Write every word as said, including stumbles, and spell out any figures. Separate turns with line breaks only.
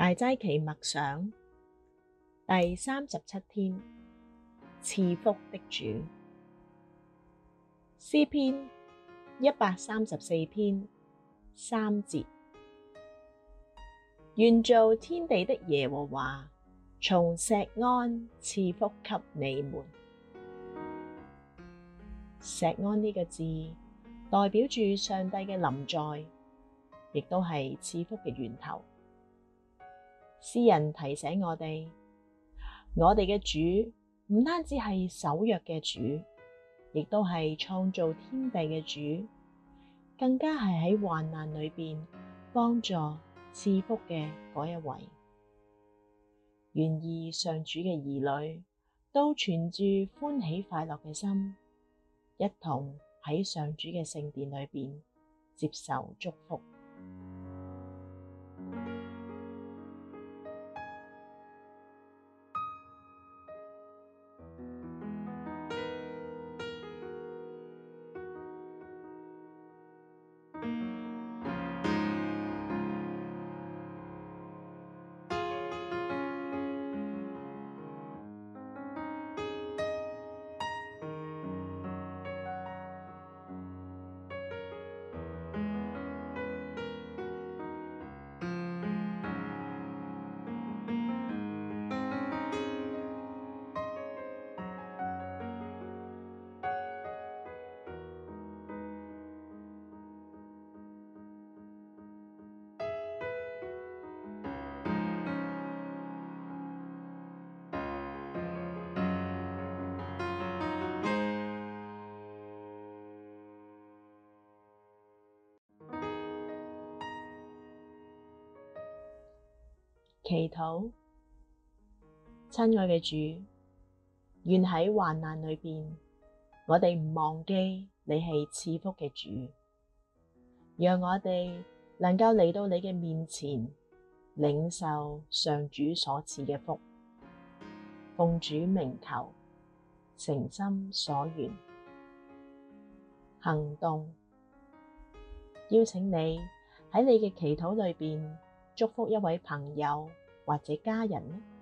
大齋期默想第三十七天，賜福的主。詩篇一百三十四篇三節，願造天地的耶和華從錫安賜福給你們。錫安呢個字代表住上帝嘅臨在，亦都係賜福嘅源頭。詩人提醒我哋，我哋嘅主唔單止係守約嘅主，亦都係創造天地嘅主，更加係喺患難裏邊幫助賜福嘅嗰一位。願意上主嘅兒女都存住歡喜快樂嘅心，一同喺上主嘅聖殿裏邊接受祝福。祈禱。親愛嘅主，願喺患難裏邊，我哋唔忘記你係賜福嘅主，讓我哋能夠嚟到你嘅面前，領受上主所賜嘅福，奉主名求，誠心所願。行動。邀請你喺你嘅祈禱裏邊祝福一位朋友或者家人。